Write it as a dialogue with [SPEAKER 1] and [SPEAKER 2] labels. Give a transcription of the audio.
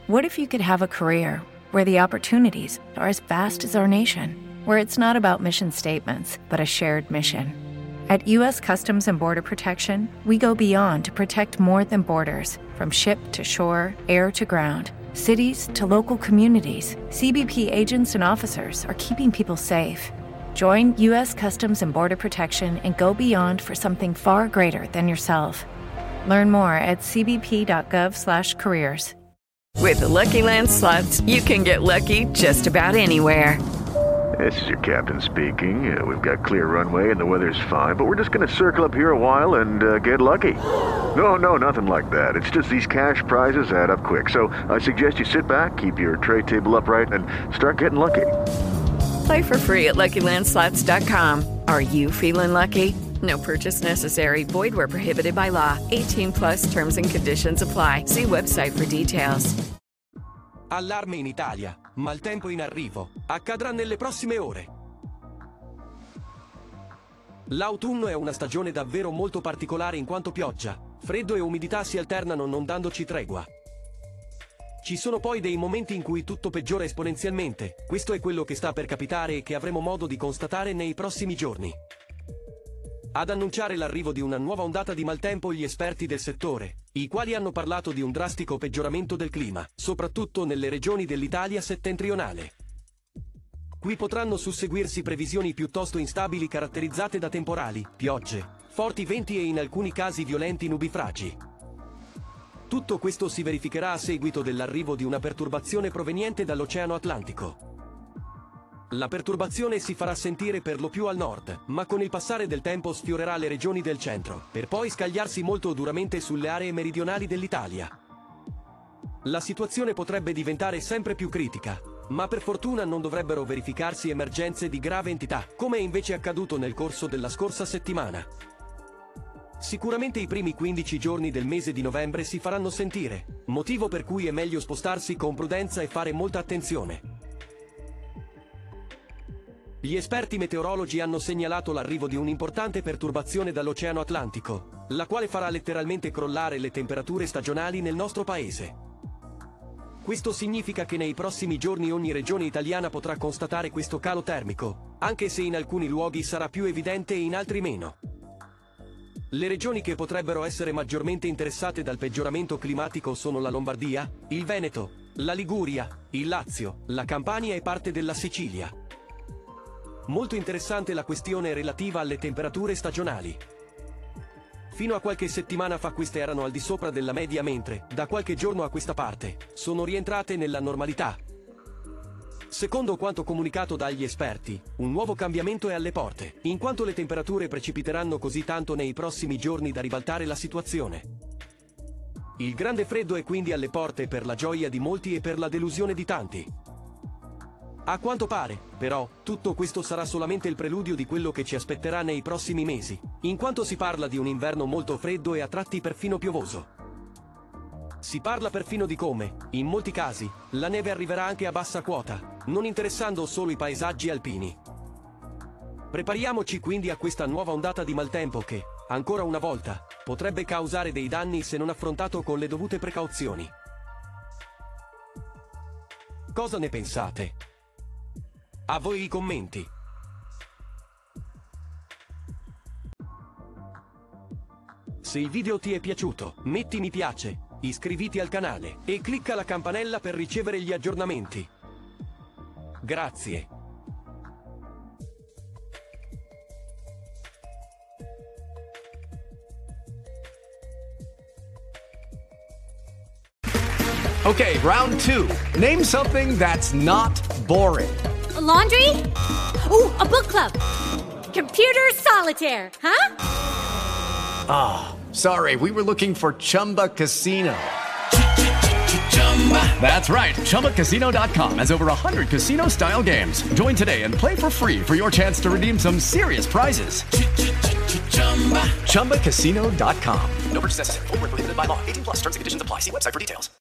[SPEAKER 1] What if you could have a career where the opportunities are as vast as our nation, where it's not about mission statements, but a shared mission? At U.S. Customs and Border Protection, we go beyond to protect more than borders. From ship to shore, air to ground, cities to local communities, CBP agents and officers are keeping people safe. Join U.S. Customs and Border Protection and go beyond for something far greater than yourself. Learn more at cbp.gov/careers.
[SPEAKER 2] With the Lucky Land Slots, you can get lucky just about anywhere.
[SPEAKER 3] This is your captain speaking. We've got clear runway and the weather's fine, but we're just going to circle up here a while and get lucky. No, nothing like that. It's just these cash prizes add up quick. So I suggest you sit back, keep your tray table upright, and start getting lucky.
[SPEAKER 2] Play for free at LuckyLandSlots.com. Are you feeling lucky? No purchase necessary. Void where prohibited by law. 18+ terms and conditions apply. See website for details.
[SPEAKER 4] Allarme in Italia. Maltempo in arrivo. Accadrà nelle prossime ore. L'autunno è una stagione davvero molto particolare in quanto pioggia, freddo e umidità si alternano non dandoci tregua. Ci sono poi dei momenti in cui tutto peggiora esponenzialmente. Questo è quello che sta per capitare e che avremo modo di constatare nei prossimi giorni. Ad annunciare l'arrivo di una nuova ondata di maltempo gli esperti del settore, i quali hanno parlato di un drastico peggioramento del clima, soprattutto nelle regioni dell'Italia settentrionale. Qui potranno susseguirsi previsioni piuttosto instabili caratterizzate da temporali, piogge, forti venti e in alcuni casi violenti nubifragi. Tutto questo si verificherà a seguito dell'arrivo di una perturbazione proveniente dall'Oceano Atlantico. La perturbazione si farà sentire per lo più al nord, ma con il passare del tempo sfiorerà le regioni del centro, per poi scagliarsi molto duramente sulle aree meridionali dell'Italia. La situazione potrebbe diventare sempre più critica, ma per fortuna non dovrebbero verificarsi emergenze di grave entità, come è invece accaduto nel corso della scorsa settimana. Sicuramente i primi 15 giorni del mese di novembre si faranno sentire, motivo per cui è meglio spostarsi con prudenza e fare molta attenzione. Gli esperti meteorologi hanno segnalato l'arrivo di un'importante perturbazione dall'Oceano Atlantico, la quale farà letteralmente crollare le temperature stagionali nel nostro paese. Questo significa che nei prossimi giorni ogni regione italiana potrà constatare questo calo termico, anche se in alcuni luoghi sarà più evidente e in altri meno. Le regioni che potrebbero essere maggiormente interessate dal peggioramento climatico sono la Lombardia, il Veneto, la Liguria, il Lazio, la Campania e parte della Sicilia. Molto interessante la questione relativa alle temperature stagionali. Fino a qualche settimana fa queste erano al di sopra della media, mentre, da qualche giorno a questa parte, sono rientrate nella normalità. Secondo quanto comunicato dagli esperti, un nuovo cambiamento è alle porte, in quanto le temperature precipiteranno così tanto nei prossimi giorni da ribaltare la situazione. Il grande freddo è quindi alle porte per la gioia di molti e per la delusione di tanti. A quanto pare, però, tutto questo sarà solamente il preludio di quello che ci aspetterà nei prossimi mesi, in quanto si parla di un inverno molto freddo e a tratti perfino piovoso. Si parla perfino di come, in molti casi, la neve arriverà anche a bassa quota, non interessando solo i paesaggi alpini. Prepariamoci quindi a questa nuova ondata di maltempo che, ancora una volta, potrebbe causare dei danni se non affrontato con le dovute precauzioni. Cosa ne pensate? A voi i commenti. Se il video ti è piaciuto, metti mi piace, iscriviti al canale e clicca la campanella per ricevere gli aggiornamenti. Grazie.
[SPEAKER 5] Okay, round 2. Name something that's not boring.
[SPEAKER 6] A laundry? Ooh, a book club. Computer solitaire, huh?
[SPEAKER 5] Ah, oh, sorry, we were looking for Chumba Casino. That's right, ChumbaCasino.com has over 100 casino-style games. Join today and play for free for your chance to redeem some serious prizes. ChumbaCasino.com. No purchase necessary. Void where prohibited by law. 18+ terms and conditions apply. See website for details.